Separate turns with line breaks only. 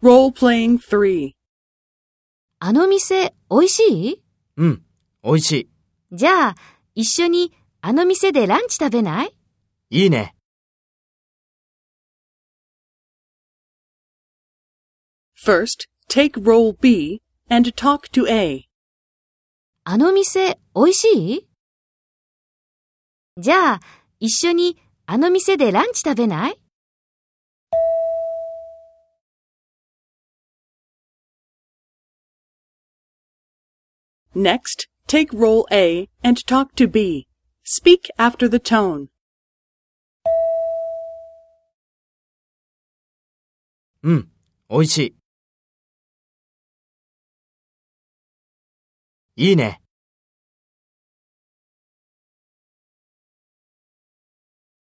Role-playing 3.
あの店、美味しい？
うん、美味しい。
じゃあ、一緒にあの店でランチ食べない？
いいね。
First, take role B and talk to A.
あの店、美味しい？じゃあ、一緒にあの店でランチ食べない？
Next, take role A and talk to B. Speak after the tone.
うん、美味しい。いいね。